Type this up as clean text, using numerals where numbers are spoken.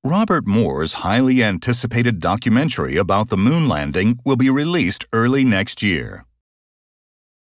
Robert Moore's highly anticipated documentary about the moon landing will be released early next year.